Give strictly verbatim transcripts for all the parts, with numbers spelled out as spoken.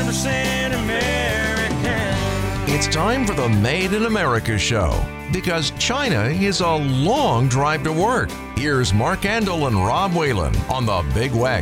percent American. It's time for the Made in America show, because China is a long drive to work. Here's Mark Andel and Rob Whalen on the Big Weck.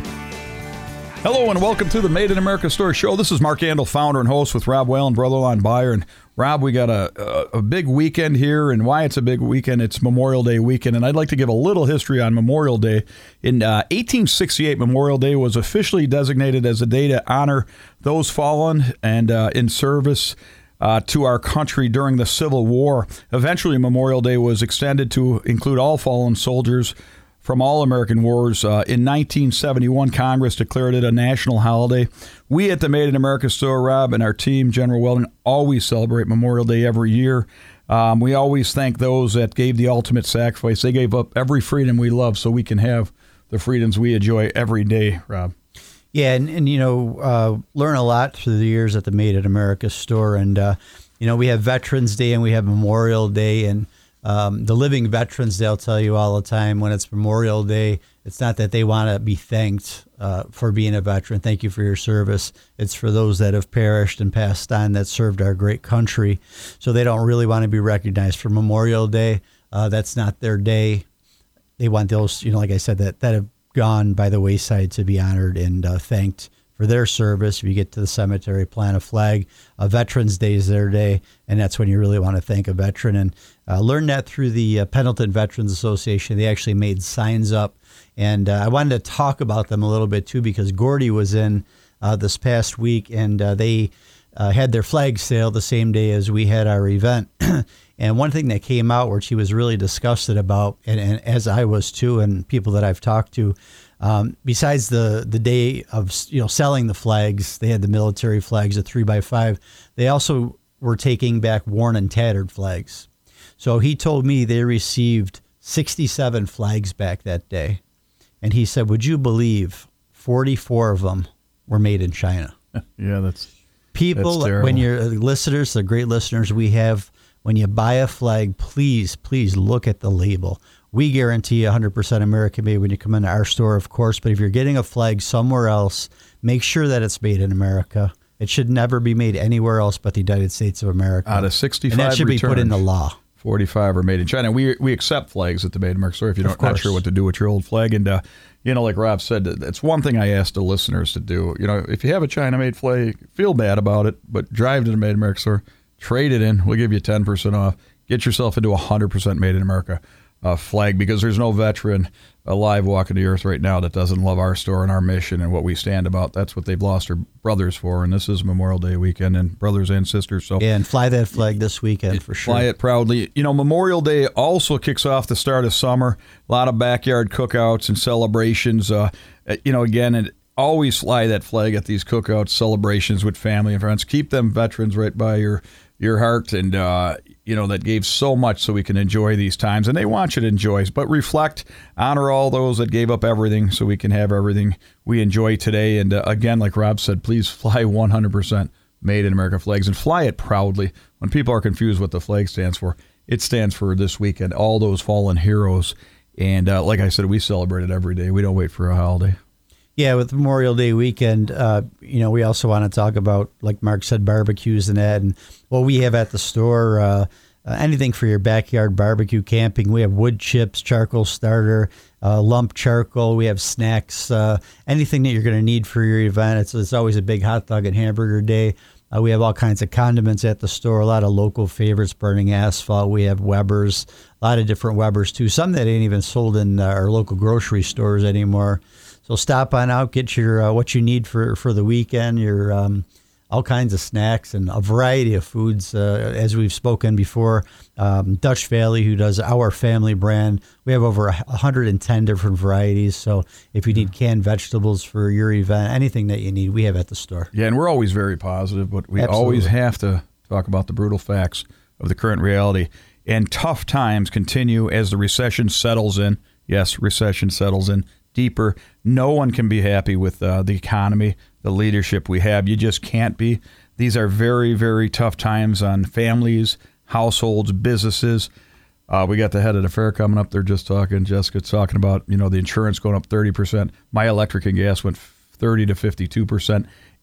Hello and welcome to the Made in America Store Show. This is Mark Andel, founder and host with Rob Whalen, brother-in-law buyer. And Rob, we got a, a a big weekend here, and why it's a big weekend, it's Memorial Day weekend. And I'd like to give a little history on Memorial Day. In uh, eighteen sixty-eight, Memorial Day was officially designated as a day to honor those fallen and uh, in service Uh, to our country during the Civil War. Eventually, Memorial Day was extended to include all fallen soldiers from all American wars. Uh, in nineteen seventy-one, Congress declared it a national holiday. We at the Made in America Store, Rob, and our team, General Weldon, always celebrate Memorial Day every year. Um, we always thank those that gave the ultimate sacrifice. They gave up every freedom we love so we can have the freedoms we enjoy every day, Rob. Yeah, and, and you know, uh, learn a lot through the years at the Made in America Store. And, uh, you know, we have Veterans Day and we have Memorial Day. And um, the living veterans, they'll tell you all the time when it's Memorial Day, it's not that they want to be thanked uh, for being a veteran. Thank you for your service. It's for those that have perished and passed on that served our great country. So they don't really want to be recognized for Memorial Day. Uh, that's not their day. They want those, you know, like I said, that, that have gone by the wayside to be honored and uh, thanked for their service. If you get to the cemetery, plant a flag. Uh, Veterans Day is their day, and that's when you really want to thank a veteran. And uh, learn that through the uh, Pendleton Veterans Association. They actually made signs up, and uh, I wanted to talk about them a little bit too, because Gordy was in uh, this past week, and uh, they uh, had their flag sale the same day as we had our event. And one thing that came out, which he was really disgusted about, and, and as I was too, and people that I've talked to, um, besides the, the day of you know selling the flags, they had the military flags, the three by five. They also were taking back worn and tattered flags. So he told me they received sixty-seven flags back that day, and he said, "Would you believe forty-four of them were made in China?" Yeah, that's people. That's terrible. When you're listeners, the great listeners we have. When you buy a flag, please, please look at the label. We guarantee one hundred percent American made when you come into our store, of course. But if you're getting a flag somewhere else, make sure that it's made in America. It should never be made anywhere else but the United States of America. Out of sixty-five and that should returned, be put in the law. forty-five are made in China. We we accept flags at the Made in America Store if you're not, not sure what to do with your old flag. And, uh, you know, like Rob said, it's one thing I ask the listeners to do. You know, if you have a China-made flag, feel bad about it, but drive to the Made in America Store. Trade it in. We'll give you ten percent off. Get yourself into a one hundred percent Made in America uh, flag, because there's no veteran alive walking the earth right now that doesn't love our store and our mission and what we stand about. That's what they've lost their brothers for, and this is Memorial Day weekend, and brothers and sisters. So yeah, and fly that flag this weekend for sure. Fly it proudly. You know, Memorial Day also kicks off the start of summer. A lot of backyard cookouts and celebrations. Uh, you know, again, it, always fly that flag at these cookouts, celebrations with family and friends. Keep them veterans right by your your heart, and uh, you know that gave so much so we can enjoy these times, and they want you to enjoy. But reflect, honor all those that gave up everything so we can have everything we enjoy today. And uh, again, like Rob said, please fly one hundred percent Made in America flags, and fly it proudly. When people are confused what the flag stands for, it stands for this weekend, all those fallen heroes. And uh, like I said, we celebrate it every day. We don't wait for a holiday. Yeah, with Memorial Day weekend, uh, you know, we also want to talk about, like Mark said, barbecues and that. And what we have at the store, uh, uh, anything for your backyard barbecue, camping. We have wood chips, charcoal starter, uh, lump charcoal. We have snacks, uh, anything that you're going to need for your event. It's, it's always a big hot dog and hamburger day. Uh, we have all kinds of condiments at the store, a lot of local favorites, Burning Asphalt. We have Weber's, a lot of different Weber's too. Some that ain't even sold in uh, our local grocery stores anymore. So stop on out, get your uh, what you need for, for the weekend, your um, all kinds of snacks and a variety of foods. Uh, as we've spoken before, um, Dutch Valley, who does our family brand, we have over one hundred ten different varieties. So if you need canned vegetables for your event, anything that you need, we have at the store. Yeah, and we're always very positive, but we Absolutely. always have to talk about the brutal facts of the current reality. And tough times continue as the recession settles in. Yes, recession settles in deeper. No one can be happy with uh, the economy, the leadership we have. You just can't be. These are very, very tough times on families, households, businesses. Uh, we got the head of the fair coming up. They're just talking, Jessica's talking about, you know, the insurance going up thirty percent. My electric and gas went thirty to fifty-two percent.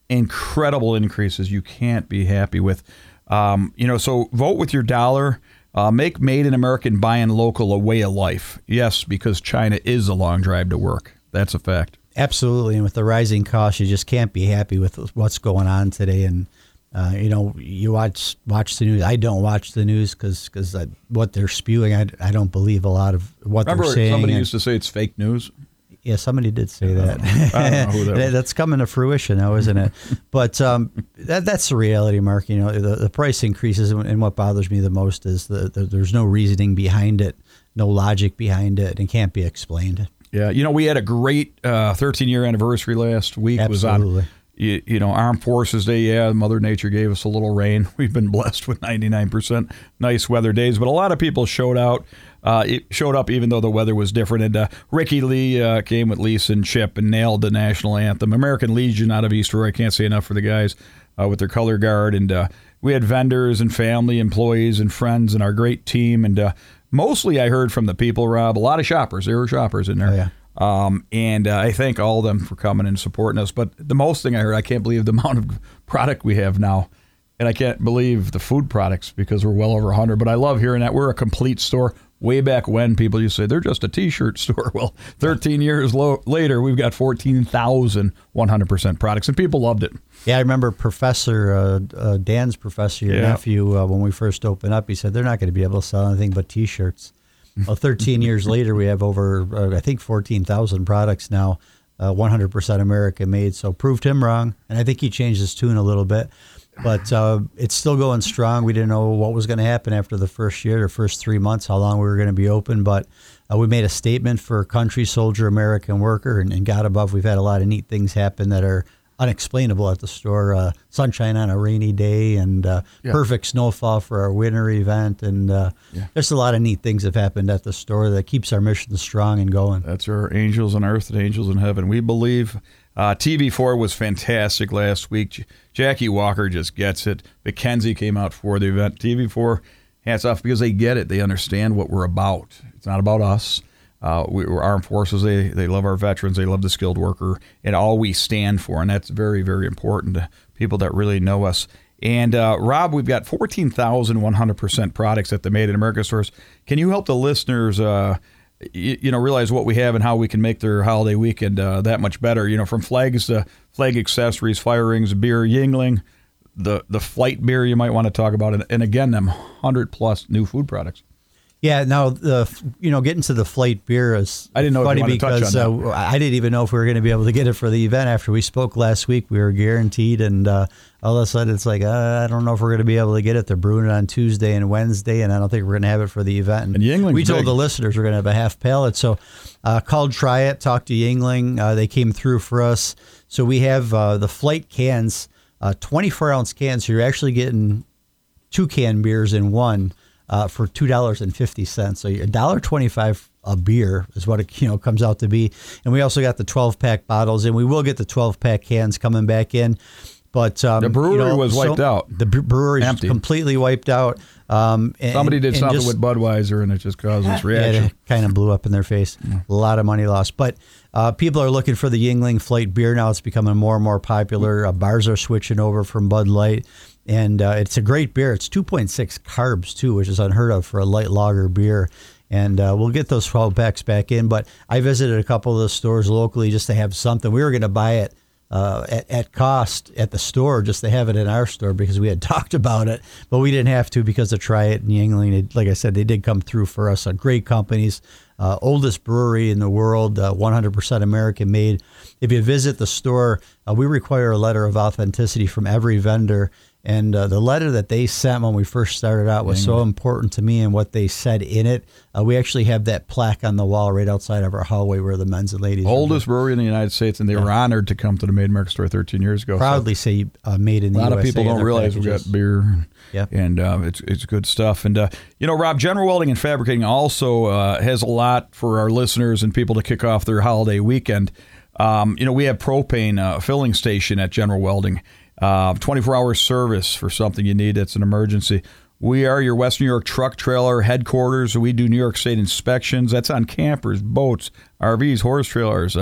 incredible increases you can't be happy with. Um, you know, so vote with your dollar. Uh, make Made in America and Buy in Local a way of life. Yes, because China is a long drive to work. That's a fact. Absolutely. And with the rising costs, you just can't be happy with what's going on today. And, uh, you know, you watch watch the news. I don't watch the news because because what they're spewing, I, I don't believe a lot of what Remember they're saying. Somebody and, used to say it's fake news? Yeah, somebody did say I that. don't know. I don't know who that was. That's coming to fruition now, isn't it? But um, that, that's the reality, Mark. You know, the, the price increases, and what bothers me the most is the, the there's no reasoning behind it, no logic behind it, and can't be explained. Yeah, you know, we had a great uh, thirteen-year anniversary last week. Absolutely. Was on, you, you know, Armed Forces Day. Yeah, Mother Nature gave us a little rain. We've been blessed with ninety-nine percent nice weather days, but a lot of people showed out. Uh, it showed up even though the weather was different. And uh, Ricky Lee uh, came with Lisa and Chip and nailed the national anthem. American Legion out of East Aurora. I can't say enough for the guys uh, with their color guard. And uh, we had vendors and family, employees and friends and our great team. And uh, mostly I heard from the people, Rob, a lot of shoppers. There were shoppers in there. Oh, yeah. Um, and uh, I thank all of them for coming and supporting us. But the most thing I heard, I can't believe the amount of product we have now. And I can't believe the food products because we're well over one hundred. But I love hearing that. We're a complete store. Way back when, people used to say, they're just a T-shirt store. Well, thirteen years lo- later, we've got fourteen thousand one hundred percent products, and people loved it. Yeah, I remember Professor, uh, uh, Dan's professor, your Yeah. nephew, uh, when we first opened up, he said they're not going to be able to sell anything but T-shirts. Well, thirteen years later, we have over, uh, I think, fourteen thousand products now, uh, one hundred percent American made. So proved him wrong, and I think he changed his tune a little bit. But uh, it's still going strong. We didn't know what was going to happen after the first year or first three months, how long we were going to be open. But uh, we made a statement for country, soldier, American worker, and, and God above, we've had a lot of neat things happen that are unexplainable at the store. Uh, sunshine on a rainy day and uh, Yeah. perfect snowfall for our winter event. And uh, Yeah. there's a lot of neat things have happened at the store that keeps our mission strong and going. That's our angels on earth and angels in heaven. We believe. Uh, T V four was fantastic last week. J- Jackie Walker just gets it. Mackenzie came out for the event. T V four, hats off because they get it. They understand what we're about. It's not about us. Uh, we, we're armed forces. They they love our veterans. They love the skilled worker and all we stand for. And that's very, very important to people that really know us. And, uh, Rob, we've got fourteen thousand one hundred percent products at the Made in America stores. Can you help the listeners uh, You, you know, realize what we have and how we can make their holiday weekend uh, that much better. You know, from flags to flag accessories, fire rings, beer, Yingling, the the flight beer you might want to talk about, and, and again, them one hundred plus new food products. Yeah, now the you know getting to the flight beer is I didn't know if funny you wanted to touch because on uh, I didn't even know if we were going to be able to get it for the event. After we spoke last week, we were guaranteed, and uh, all of a sudden it's like uh, I don't know if we're going to be able to get it. They're brewing it on Tuesday and Wednesday, and I don't think we're going to have it for the event. And Yingling's we told big. the listeners we're going to have a half pallet, so uh, called Try It, talked to Yingling. Uh, they came through for us, so we have uh, the flight cans, uh, twenty-four ounce cans. So you're actually getting two can beers in one. Uh, for two dollars and fifty cents, so a dollar twenty-five a beer is what it you know comes out to be. And we also got the twelve pack bottles, and we will get the twelve pack cans coming back in. But um, The brewery you know, was wiped so out. The brewery Empty. completely wiped out. Um, and, Somebody did and something just- with Budweiser, and it just caused this reaction. yeah, it kind of blew up in their face. A lot of money lost. But uh, people are looking for the Yingling Flight beer now. It's becoming more and more popular. Uh, bars are switching over from Bud Light. And uh, it's a great beer. It's two point six carbs, too, which is unheard of for a light lager beer. And uh, we'll get those twelve packs back in. But I visited a couple of the stores locally just to have something. We were going to buy it uh, at, at cost at the store just to have it in our store because we had talked about it. But we didn't have to because of Try It and Yingling. Like I said, they did come through for us. Uh, great companies. Uh, oldest brewery in the world, uh, one hundred percent American made. If you visit the store, uh, we require a letter of authenticity from every vendor. And uh, the letter that they sent when we first started out was so important to me and what they said in it. Uh, we actually have that plaque on the wall right outside of our hallway where the men's and ladies Oldest brewery in the United States, and they were honored to come to the Made in America store thirteen years ago. proudly say uh, made in the A U S A. lot of people in don't their realize we've packages. got beer, Yep. and uh, it's it's good stuff. And uh, you know, Rob, General Welding and Fabricating also uh, has a lot for our listeners and people to kick off their holiday weekend. Um, you know, we have propane uh, filling station at General Welding, uh, twenty-four hour service for something you need that's an emergency. We are your West New York truck trailer headquarters. We do New York State inspections. That's on campers, boats, R Vs, horse trailers. Uh,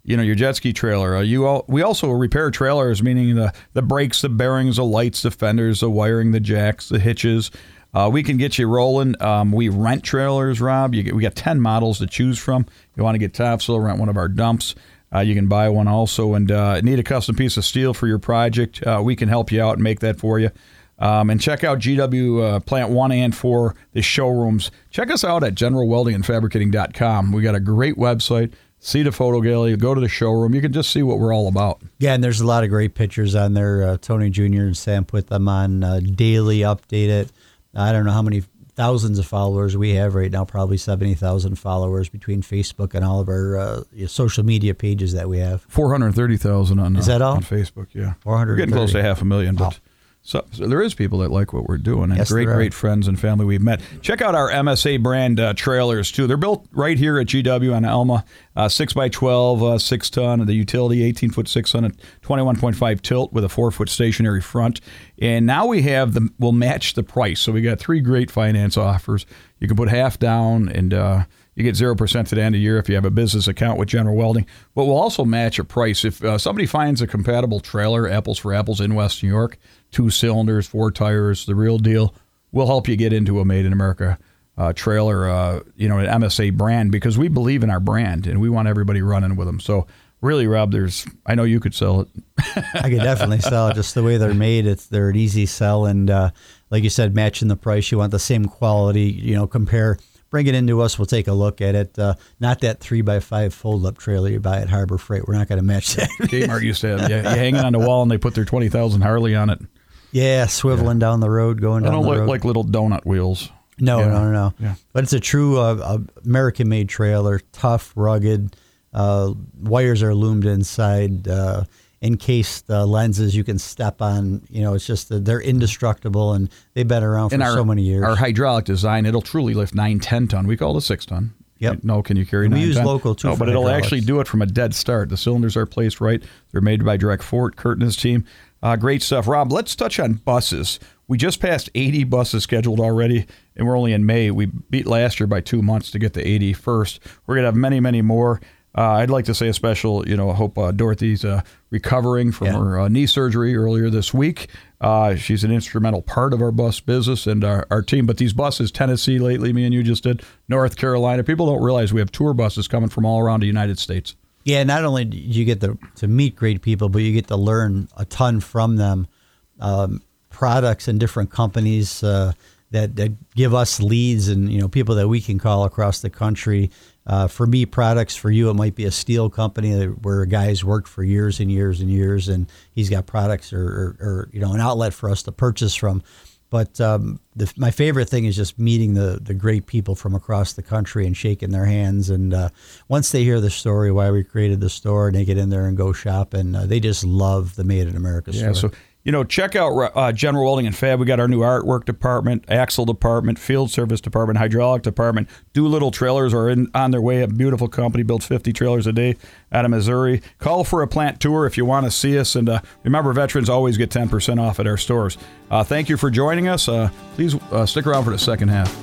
you know, your jet ski trailer. Uh, you all, we also repair trailers, meaning the, the brakes, the bearings, the lights, the fenders, the wiring, the jacks, the hitches. Uh, we can get you rolling. Um, we rent trailers, Rob. You get, we got ten models to choose from. You want to get topsoil, rent one of our dumps. Uh, you can buy one also, and uh, need a custom piece of steel for your project. Uh, we can help you out and make that for you. Um, and check out G W uh, Plant one and four, the showrooms. Check us out at general welding and fabricating dot com. We got a great website. See the photo gallery. Go to the showroom. You can just see what we're all about. Yeah, and there's a lot of great pictures on there. Uh, Tony Junior and Sam put them on uh, daily, update it. I don't know how many thousands of followers we have right now, probably seventy thousand followers between Facebook and all of our uh, social media pages that we have. four hundred thirty thousand on, is that all? uh, on Facebook, yeah. four hundred thirty. We're getting close to half a million, but... Wow. So, so there is people that like what we're doing, and yes, great, great friends and family we've met. Check out our M S A brand uh, trailers, too. They're built right here at G W on Elma, uh, six by twelve, uh, six ton, the utility, eighteen foot six ton, twenty-one point five tilt with a four foot stationary front. And now we have the, we'll match the price. So we got three great finance offers. You can put half down, and uh, you get zero percent to the end of the year if you have a business account with General Welding. But we'll also match a price. If uh, somebody finds a compatible trailer, apples for apples in West New York, two cylinders, four tires, the real deal, we'll help you get into a Made in America uh, trailer, uh, you know, an M S A brand, because we believe in our brand and we want everybody running with them. So really, Rob, there's, I know you could sell it. I could definitely sell it. Just the way they're made, it's they're an easy sell. And uh, like you said, matching the price, you want the same quality, you know, compare. Bring it into us. We'll take a look at it. Uh, not that three by five fold-up trailer you buy at Harbor Freight. We're not going to match that. Kmart used to have, yeah, you hang it on the wall and they put their twenty thousand Harley on it. Yeah, swiveling yeah. down the road, going down I don't the look road. like little donut wheels. No, yeah. no, no, no. Yeah. But it's a true uh, American-made trailer, tough, rugged. Uh, wires are loomed inside. Uh, encased uh, lenses you can step on. You know, it's just uh, they're indestructible, and they've been around for our, so many years. Our hydraulic design, it'll truly lift nine, ten ton. We call it a six ton. Yep. No, can you carry and nine we use ton? local too. No, but it'll hydraulics. actually do it from a dead start. The cylinders are placed right. They're made by Direct Fort, Kurt and his team. Uh, great stuff. Rob, let's touch on buses. We just passed eighty buses scheduled already, and we're only in May. We beat last year by two months to get to eighty first. We're going to have many, many more. Uh, I'd like to say a special, you know, I hope uh, Dorothy's uh, recovering from yeah. her uh, knee surgery earlier this week. Uh, she's an instrumental part of our bus business and our, our team. But these buses, Tennessee lately, me and you just did, North Carolina, people don't realize we have tour buses coming from all around the United States. Yeah, not only do you get to, to meet great people, but you get to learn a ton from them. Um, products and different companies uh, that, that give us leads and, you know, people that we can call across the country. Uh, for me, products. For you, it might be a steel company that, where a guy's worked for years and years and years, and he's got products or, or, or you know, an outlet for us to purchase from. But um, the, my favorite thing is just meeting the, the great people from across the country and shaking their hands. And uh, once they hear the story, why we created the store, and they get in there and go shop, and uh, they just love the Made in America store. Yeah, so, you know, check out uh, General Welding and Fab. We got our new artwork department, axle department, field service department, hydraulic department. Doolittle Trailers are in, on their way. A beautiful company, builds fifty trailers a day out of Missouri. Call for a plant tour if you want to see us. And uh, remember, veterans always get ten percent off at our stores. Uh, thank you for joining us. Uh, please uh, stick around for the second half.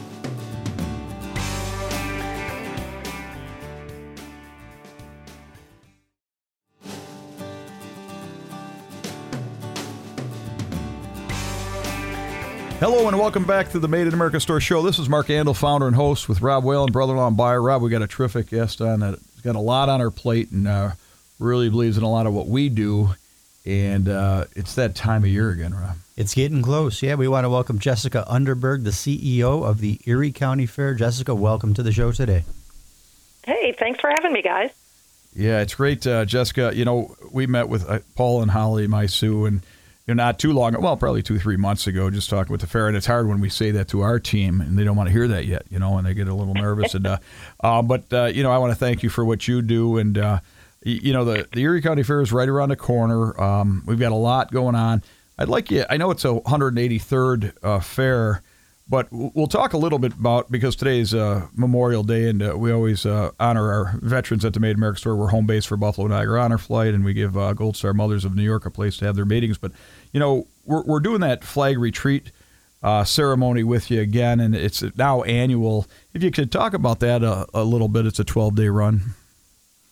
Hello and welcome back to the Made in America Store Show. This is Mark Andel, founder and host with Rob Whalen, brother-in-law and buyer. Rob, we got a terrific guest on that's got a lot on her plate and uh, really believes in a lot of what we do. And uh, it's that time of year again, Rob. It's getting close. Yeah, we want to welcome Jessica Underberg, the C E O of the Erie County Fair. Jessica, welcome to the show today. Hey, thanks for having me, guys. Yeah, it's great, uh, Jessica. You know, we met with uh, Paul and Holly, my Sue, and you know, not too long, well, probably two, three months ago, just talking with the fair. And it's hard when we say that to our team, and they don't want to hear that yet, you know, and they get a little nervous. and uh, uh, But, uh, you know, I want to thank you for what you do. And, uh, you, you know, the, the Erie County Fair is right around the corner. Um, we've got a lot going on. I'd like you, I know it's a one hundred eighty-third uh, fair, but we'll talk a little bit about, because today's uh, Memorial Day, and uh, we always uh, honor our veterans at the Made in America Store. We're home base for Buffalo Niagara Honor Flight, and we give uh, Gold Star Mothers of New York a place to have their meetings. But, you know, we're we're doing that flag retreat uh, ceremony with you again, and it's now annual. If you could talk about that a, a little bit, it's a twelve-day run.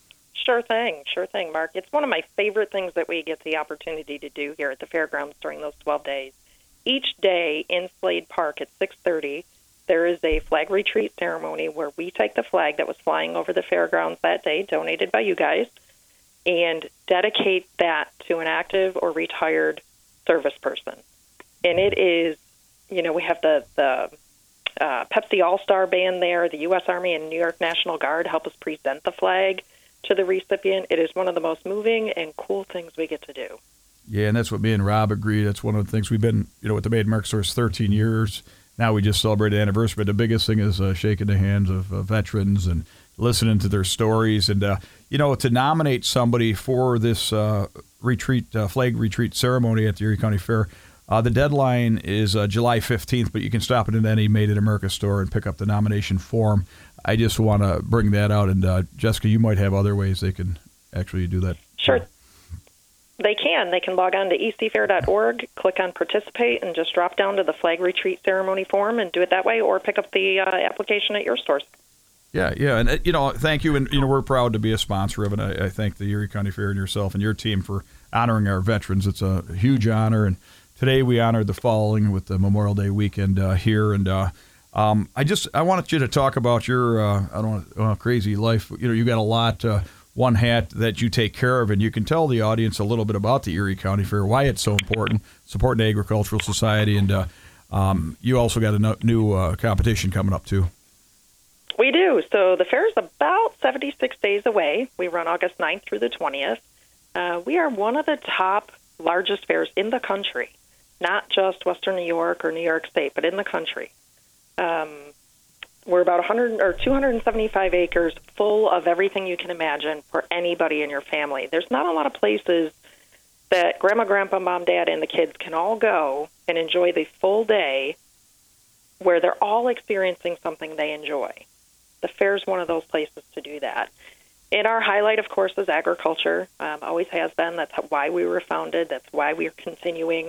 Sure thing, sure thing, Mark. It's one of my favorite things that we get the opportunity to do here at the fairgrounds during those twelve days. Each day in Slade Park at six thirty, there is a flag retreat ceremony where we take the flag that was flying over the fairgrounds that day, donated by you guys, and dedicate that to an active or retired service person. And it is, you know, we have the, the uh, Pepsi All-Star Band there, the U S Army and New York National Guard help us present the flag to the recipient. It is one of the most moving and cool things we get to do. Yeah, and that's what me and Rob agree. That's one of the things we've been, you know, with the Made in America Stores thirteen years. Now we just celebrated the anniversary, but the biggest thing is uh, shaking the hands of uh, veterans and listening to their stories. And, uh, you know, to nominate somebody for this uh, retreat, uh, flag retreat ceremony at the Erie County Fair, uh, the deadline is uh, July fifteenth, but you can stop it in any Made in America store and pick up the nomination form. I just want to bring that out. And, uh, Jessica, you might have other ways they can actually do that. Sure. They can. They can log on to e c fair dot org, click on participate, and just drop down to the flag retreat ceremony form and do it that way, or pick up the uh, application at your stores. Yeah, yeah. And, uh, you know, thank you. And, you know, we're proud to be a sponsor of it. I, I thank the Erie County Fair and yourself and your team for honoring our veterans. It's a huge honor. And today we honored the following with the Memorial Day weekend uh, here. And uh, um, I just I wanted you to talk about your, uh, I don't know, uh, crazy life. You know, you got a lot uh, one hat that you take care of, and you can tell the audience a little bit about the Erie County Fair, why it's so important, supporting the Agricultural Society, and uh, um, you also got a no, new uh, competition coming up, too. We do. So the fair is about seventy-six days away. We run August ninth through the twentieth. Uh, we are one of the top largest fairs in the country, not just Western New York or New York State, but in the country. Um, We're about one hundred or two hundred seventy-five acres full of everything you can imagine for anybody in your family. There's not a lot of places that Grandma, Grandpa, Mom, Dad, and the kids can all go and enjoy the full day where they're all experiencing something they enjoy. The fair is one of those places to do that. And our highlight, of course, is agriculture. Um, always has been. That's why we were founded. That's why we're continuing.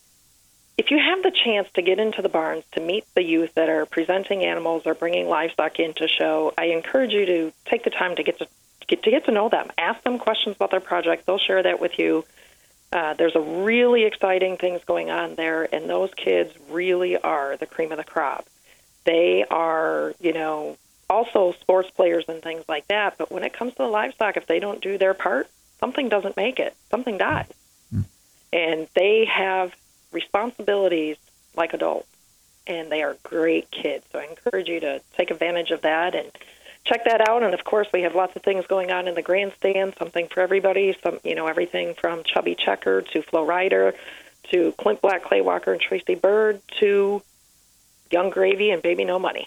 If you have the chance to get into the barns to meet the youth that are presenting animals or bringing livestock in to show, I encourage you to take the time to get to get to get to know them. Ask them questions about their project. They'll share that with you. Uh, there's a really exciting things going on there, and those kids really are the cream of the crop. They are, you know, also sports players and things like that. But when it comes to the livestock, if they don't do their part, something doesn't make it. Something dies. Mm. And they have responsibilities like adults, and they are great kids. So I encourage you to take advantage of that and check that out. And of course, we have lots of things going on in the grandstand, something for everybody. Some, you know, everything from Chubby Checker to Flo Rida to Clint Black, Clay Walker, and Tracy Bird to Young Gravy and Baby No Money.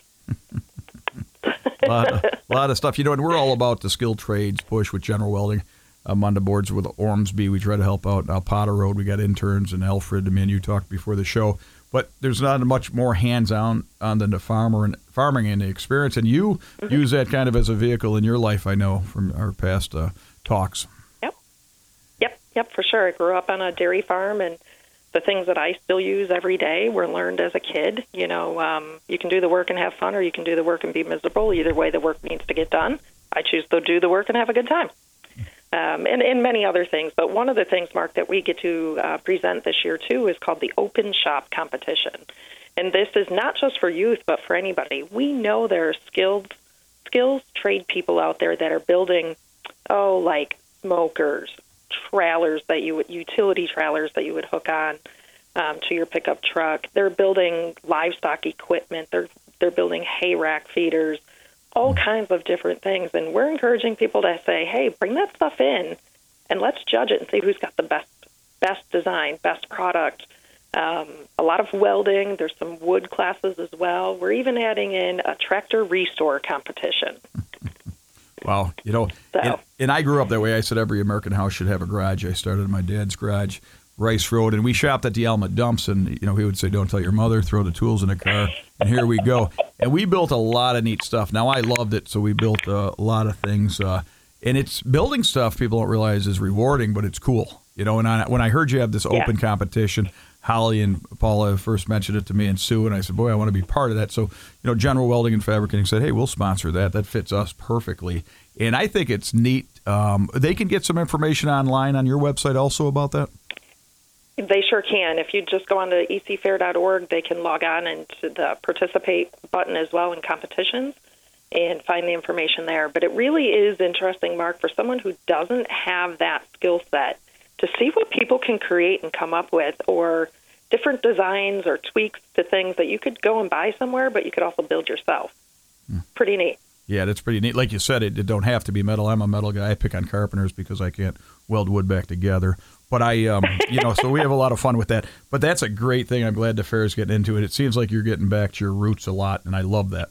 a, lot of, a lot of stuff, you know, and we're all about the skilled trades push with General Welding. I'm on the boards with Ormsby. We try to help out. Now, Potter Road, we got interns, and Alfred, I mean, you talked before the show. But there's not much more hands-on on than the farmer and farming and the experience. And you mm-hmm. use that kind of as a vehicle in your life, I know, from our past uh, talks. Yep. Yep, yep, for sure. I grew up on a dairy farm, and the things that I still use every day were learned as a kid. You know, um, you can do the work and have fun, or you can do the work and be miserable. Either way, the work needs to get done. I choose to do the work and have a good time. Um, and, and many other things. But one of the things, Mark, that we get to uh, present this year, too, is called the Open Shop Competition. And this is not just for youth, but for anybody. We know there are skilled, skills trade people out there that are building, oh, like smokers, trailers that you would, utility trailers that you would hook on um, to your pickup truck. They're building livestock equipment. They're they're building hay rack feeders. All kinds of different things, and we're encouraging people to say, hey, bring that stuff in, and let's judge it and see who's got the best best design, best product. Um, a lot of welding. There's some wood classes as well. We're even adding in a tractor restore competition. Wow. You know, so. and, and I grew up that way. I said every American house should have a garage. I started in my dad's garage, Rice Road, and we shopped at the Alma Dumps, and, you know, he would say, don't tell your mother, throw the tools in the car, and here we go. And we built a lot of neat stuff. Now, I loved it, so we built uh, a lot of things. Uh, and it's building stuff people don't realize is rewarding, but it's cool. You know, and I, when I heard you have this Yeah. open competition, Holly and Paula first mentioned it to me and Sue, and I said, boy, I want to be part of that. So, you know, General Welding and Fabricating said, hey, we'll sponsor that. That fits us perfectly. And I think it's neat. Um, they can get some information online on your website also about that? They sure can. If you just go on to e c fair dot org, they can log on into the participate button as well in competitions and find the information there. But it really is interesting, Mark, for someone who doesn't have that skill set to see what people can create and come up with, or different designs or tweaks to things that you could go and buy somewhere, but you could also build yourself. Mm. Pretty neat. Yeah, that's pretty neat. Like you said, it, it don't have to be metal. I'm a metal guy. I pick on carpenters because I can't weld wood back together. But I, um, you know, so we have a lot of fun with that. But that's a great thing. I'm glad the fair is getting into it. It seems like you're getting back to your roots a lot, and I love that.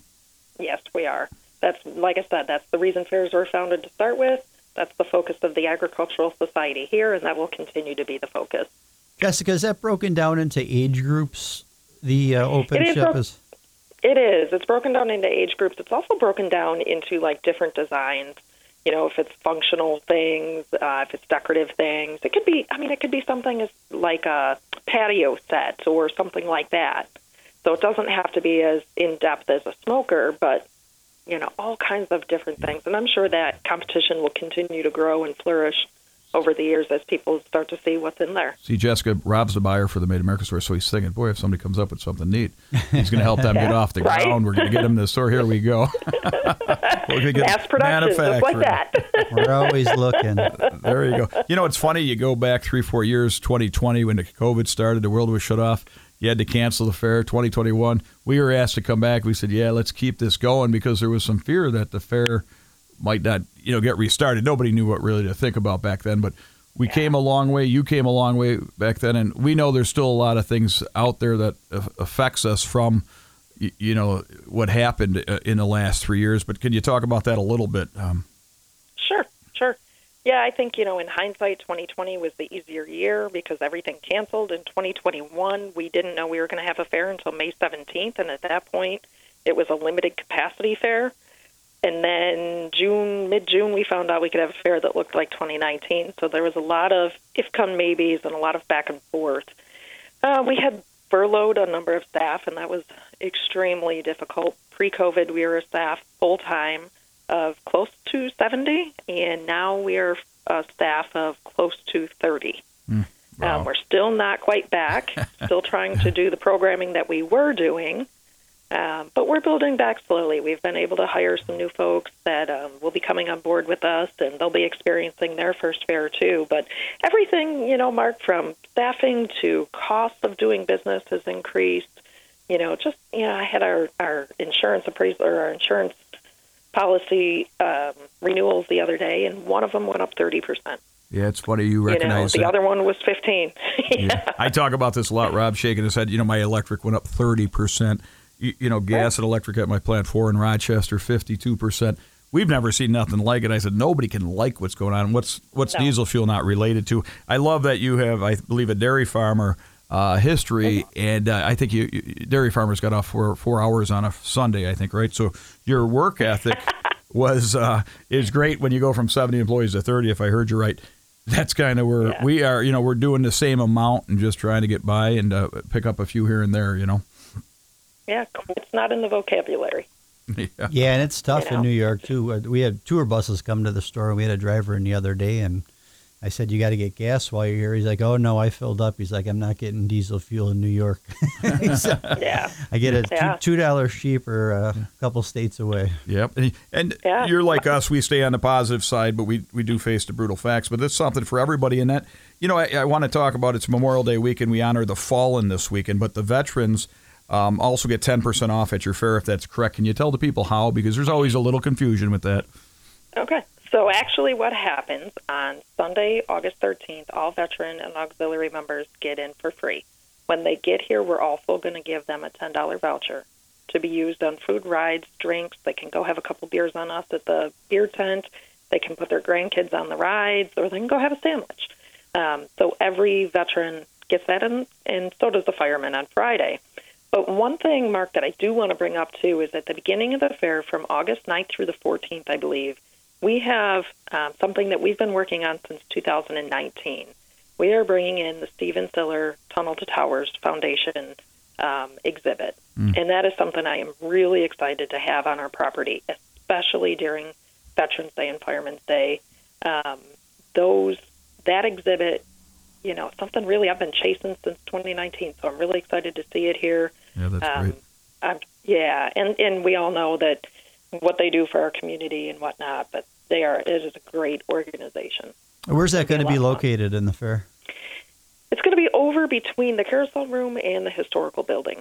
Yes, we are. That's, like I said, that's the reason fairs were founded to start with. That's the focus of the Agricultural Society here, and that will continue to be the focus. Jessica, is that broken down into age groups, the uh, open It is ship bro- is? It is. It's broken down into age groups. It's also broken down into, like, different designs. You know, if it's functional things, uh, if it's decorative things. It could be, I mean, it could be something as like a patio set or something like that. So it doesn't have to be as in-depth as a smoker, but, you know, all kinds of different things. And I'm sure that competition will continue to grow and flourish over the years as people start to see what's in there. See, Jessica, Rob's the buyer for the Made America store, so he's thinking, boy, if somebody comes up with something neat, he's going to help them Yeah, get off the right? ground. We're going to get them to the store. Here we go. We're gonna get Mass production, just like manufacturing. that. We're always looking. There you go. You know, it's funny. You go back three, four years, twenty twenty, when the COVID started, the world was shut off. You had to cancel the fair. twenty twenty-one, we were asked to come back. We said, yeah, let's keep this going, because there was some fear that the fair might not, you know, get restarted. Nobody knew what really to think about back then, but we yeah. came a long way. You came a long way back then, and we know there's still a lot of things out there that affects us from, you know, what happened in the last three years. But can you talk about that a little bit? Um, Sure, sure. Yeah, I think, you know, in hindsight, twenty twenty was the easier year because everything canceled. In twenty twenty-one, we didn't know we were going to have a fair until May seventeenth, and at that point, it was a limited capacity fair. And then June, mid-June, we found out we could have a fair that looked like twenty nineteen. So there was a lot of if-come maybes and a lot of back and forth. Uh, we had furloughed a number of staff, and that was extremely difficult. Pre-COVID, we were a staff full-time of close to seventy, and now we are a staff of close to thirty. Mm, wow. um, we're still not quite back, still trying to do the programming that we were doing. Um, but we're building back slowly. We've been able to hire some new folks that um, will be coming on board with us, and they'll be experiencing their first fair too. But everything, you know, Mark, from staffing to cost of doing business has increased. You know, just, you know, I had our, our insurance appraisal or our insurance policy um, renewals the other day, and one of them went up thirty percent. Yeah, it's funny you recognize you know, the that. other one was fifteen. yeah. yeah. I talk about this a lot. Rob shaking his head. You know, my electric went up thirty percent. You, you know, gas and electric at my plant four in Rochester, fifty-two percent. We've never seen nothing like it. I said, nobody can like what's going on. What's what's no. diesel fuel not related to? I love that you have, I believe, a dairy farmer uh, history, mm-hmm. and uh, I think you, you dairy farmers got off for four hours on a Sunday, I think, right? So your work ethic was uh, is great when you go from seventy employees to thirty, if I heard you right. That's kind of where yeah. we are. You know, we're doing the same amount and just trying to get by and uh, pick up a few here and there, you know. Yeah, it's not in the vocabulary. Yeah, yeah and it's tough you know? in New York, too. We had tour buses come to the store, and we had a driver in the other day, and I said, you got to get gas while you're here. He's like, oh, no, I filled up. He's like, I'm not getting diesel fuel in New York. so, yeah. I get it yeah. two dollars cheaper uh, a couple states away. Yep. And, and yeah. you're like us. We stay on the positive side, but we, we do face the brutal facts. But that's something for everybody in that. You know, I, I want to talk about it's Memorial Day weekend. We honor the fallen this weekend, but the veterans Um, also get ten percent off at your fair, if that's correct. Can you tell the people how? Because there's always a little confusion with that. Okay. So actually what happens on Sunday, August thirteenth, all veteran and auxiliary members get in for free. When they get here, we're also going to give them a ten dollars voucher to be used on food, rides, drinks. They can go have a couple beers on us at the beer tent. They can put their grandkids on the rides, or they can go have a sandwich. Um, so every veteran gets that, and, and so does the fireman on Friday. But one thing, Mark, that I do want to bring up, too, is at the beginning of the fair, from August ninth through the fourteenth, I believe, we have um, something that we've been working on since two thousand nineteen. We are bringing in the Stephen Siller Tunnel to Towers Foundation um, exhibit. Mm. And that is something I am really excited to have on our property, especially during Veterans Day and Fireman's Day. Um, those that exhibit, you know, something really I've been chasing since twenty nineteen, so I'm really excited to see it here. Yeah, that's um, great. I'm, yeah, and, and we all know that what they do for our community and whatnot, but they are it is a great organization. Where's that going to be located in the fair? It's going to be over between the carousel room and the historical building.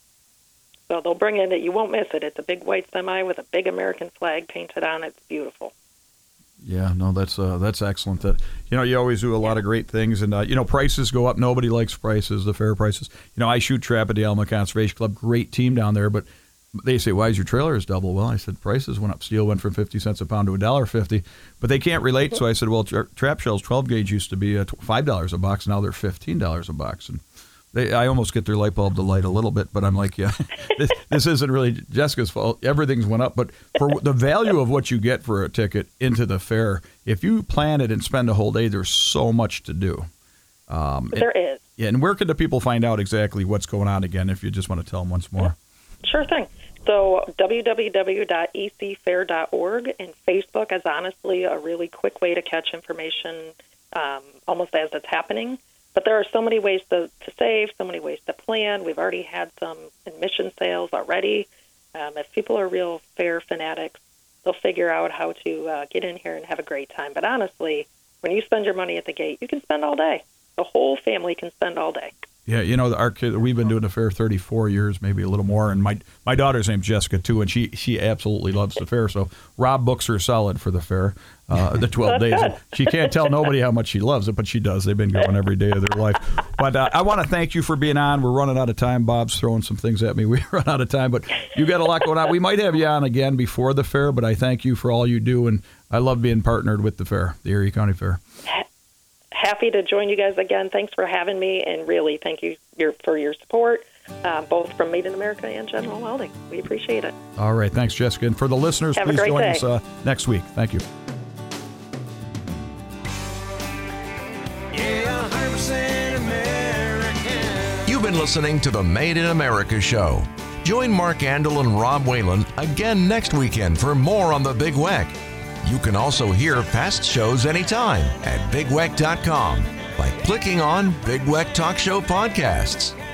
So they'll bring in it. You won't miss it. It's a big white semi with a big American flag painted on it. It's beautiful. Yeah, no, that's uh, that's excellent. That you know, you always do a lot of great things, and uh, you know, prices go up. Nobody likes prices, the fair prices. You know, I shoot trap at the Alma Conservation Club. Great team down there, but they say, "Why is your trailer is double?" Well, I said, prices went up. Steel went from fifty cents a pound to a dollar fifty, but they can't relate. So I said, "Well, tra- trap shells twelve gauge used to be uh, five dollars a box. Now they're fifteen dollars a box." And They, I almost get their light bulb to light a little bit, but I'm like, yeah, this, this isn't really Jessica's fault. Everything's went up. But for the value of what you get for a ticket into the fair, if you plan it and spend a whole day, there's so much to do. Um, there and, is. Yeah, and where can the people find out exactly what's going on again, if you just want to tell them once more? Sure thing. So w w w dot e c fair dot org, and Facebook is honestly a really quick way to catch information um, almost as it's happening. But there are so many ways to, to save, so many ways to plan. We've already had some admission sales already. Um, if people are real fair fanatics, they'll figure out how to uh, get in here and have a great time. But honestly, when you spend your money at the gate, you can spend all day. The whole family can spend all day. Yeah, you know, our kid, we've been doing the fair thirty-four years, maybe a little more, and my my daughter's name's Jessica too, and she she absolutely loves the fair. So Rob books her solid for the fair, uh, the twelve days. And she can't tell nobody how much she loves it, but she does. They've been going every day of their life. But uh, I want to thank you for being on. We're running out of time. Bob's throwing some things at me. We run out of time, but you got a lot going on. We might have you on again before the fair, but I thank you for all you do, and I love being partnered with the fair, the Erie County Fair. Happy to join you guys again. Thanks for having me, and really thank you your, for your support, uh, both from Made in America and General Welding. We appreciate it. All right. Thanks, Jessica. And for the listeners, Have please join day. us uh, next week. Thank you. Yeah, one hundred percent American. You've been listening to the Made in America show. Join Mark Andel and Rob Whalen again next weekend for more on the Big Weck. You can also hear past shows anytime at big weck dot com by clicking on Big Weck Talk Show Podcasts.